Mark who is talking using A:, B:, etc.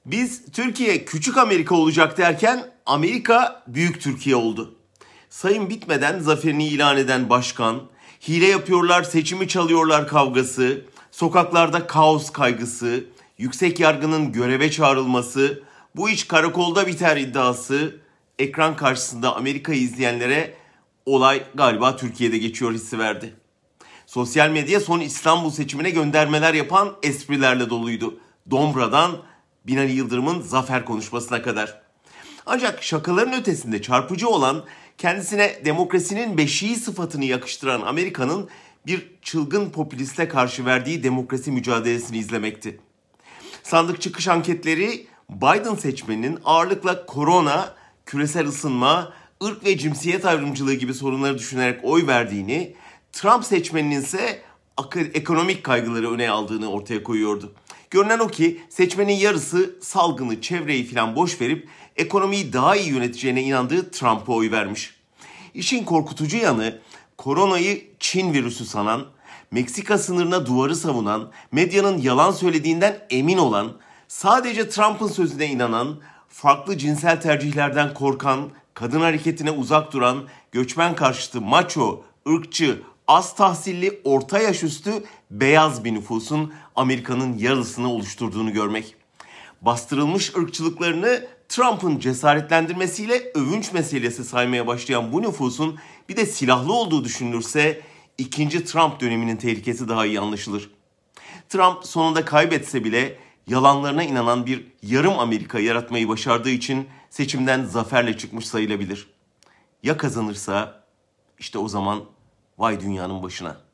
A: Biz Türkiye küçük Amerika olacak derken Amerika büyük Türkiye oldu. Sayım bitmeden zaferini ilan eden başkan, hile yapıyorlar, seçimi çalıyorlar kavgası, sokaklarda kaos kaygısı, yüksek yargının göreve çağrılması, bu iş karakolda biter iddiası, ekran karşısında Amerika'yı izleyenlere olay galiba Türkiye'de geçiyor hissi verdi. Sosyal medya son İstanbul seçimine göndermeler yapan esprilerle doluydu. Dombra'dan Binali Yıldırım'ın zafer konuşmasına kadar. Ancak şakaların ötesinde çarpıcı olan kendisine demokrasinin beşiği sıfatını yakıştıran Amerika'nın bir çılgın popüliste karşı verdiği demokrasi mücadelesini izlemekti. Sandık çıkış anketleri Biden seçmeninin ağırlıkla korona, küresel ısınma, ırk ve cinsiyet ayrımcılığı gibi sorunları düşünerek oy verdiğini, Trump seçmeninin ise ekonomik kaygıları öne aldığını ortaya koyuyordu. Görünen o ki seçmenin yarısı salgını, çevreyi falan boş verip ekonomiyi daha iyi yöneteceğine inandığı Trump'a oy vermiş. İşin korkutucu yanı koronayı Çin virüsü sanan, Meksika sınırına duvarı savunan, medyanın yalan söylediğinden emin olan, sadece Trump'ın sözüne inanan, farklı cinsel tercihlerden korkan, kadın hareketine uzak duran, göçmen karşıtı maço, ırkçı, az tahsilli, orta yaş üstü beyaz bir nüfusun Amerika'nın yarısını oluşturduğunu görmek. Bastırılmış ırkçılıklarını Trump'ın cesaretlendirmesiyle övünç meselesi saymaya başlayan bu nüfusun bir de silahlı olduğu düşünülürse ikinci Trump döneminin tehlikesi daha iyi anlaşılır. Trump sonunda kaybetse bile yalanlarına inanan bir yarım Amerika yaratmayı başardığı için seçimden zaferle çıkmış sayılabilir. Ya kazanırsa işte o zaman vay dünyanın başına.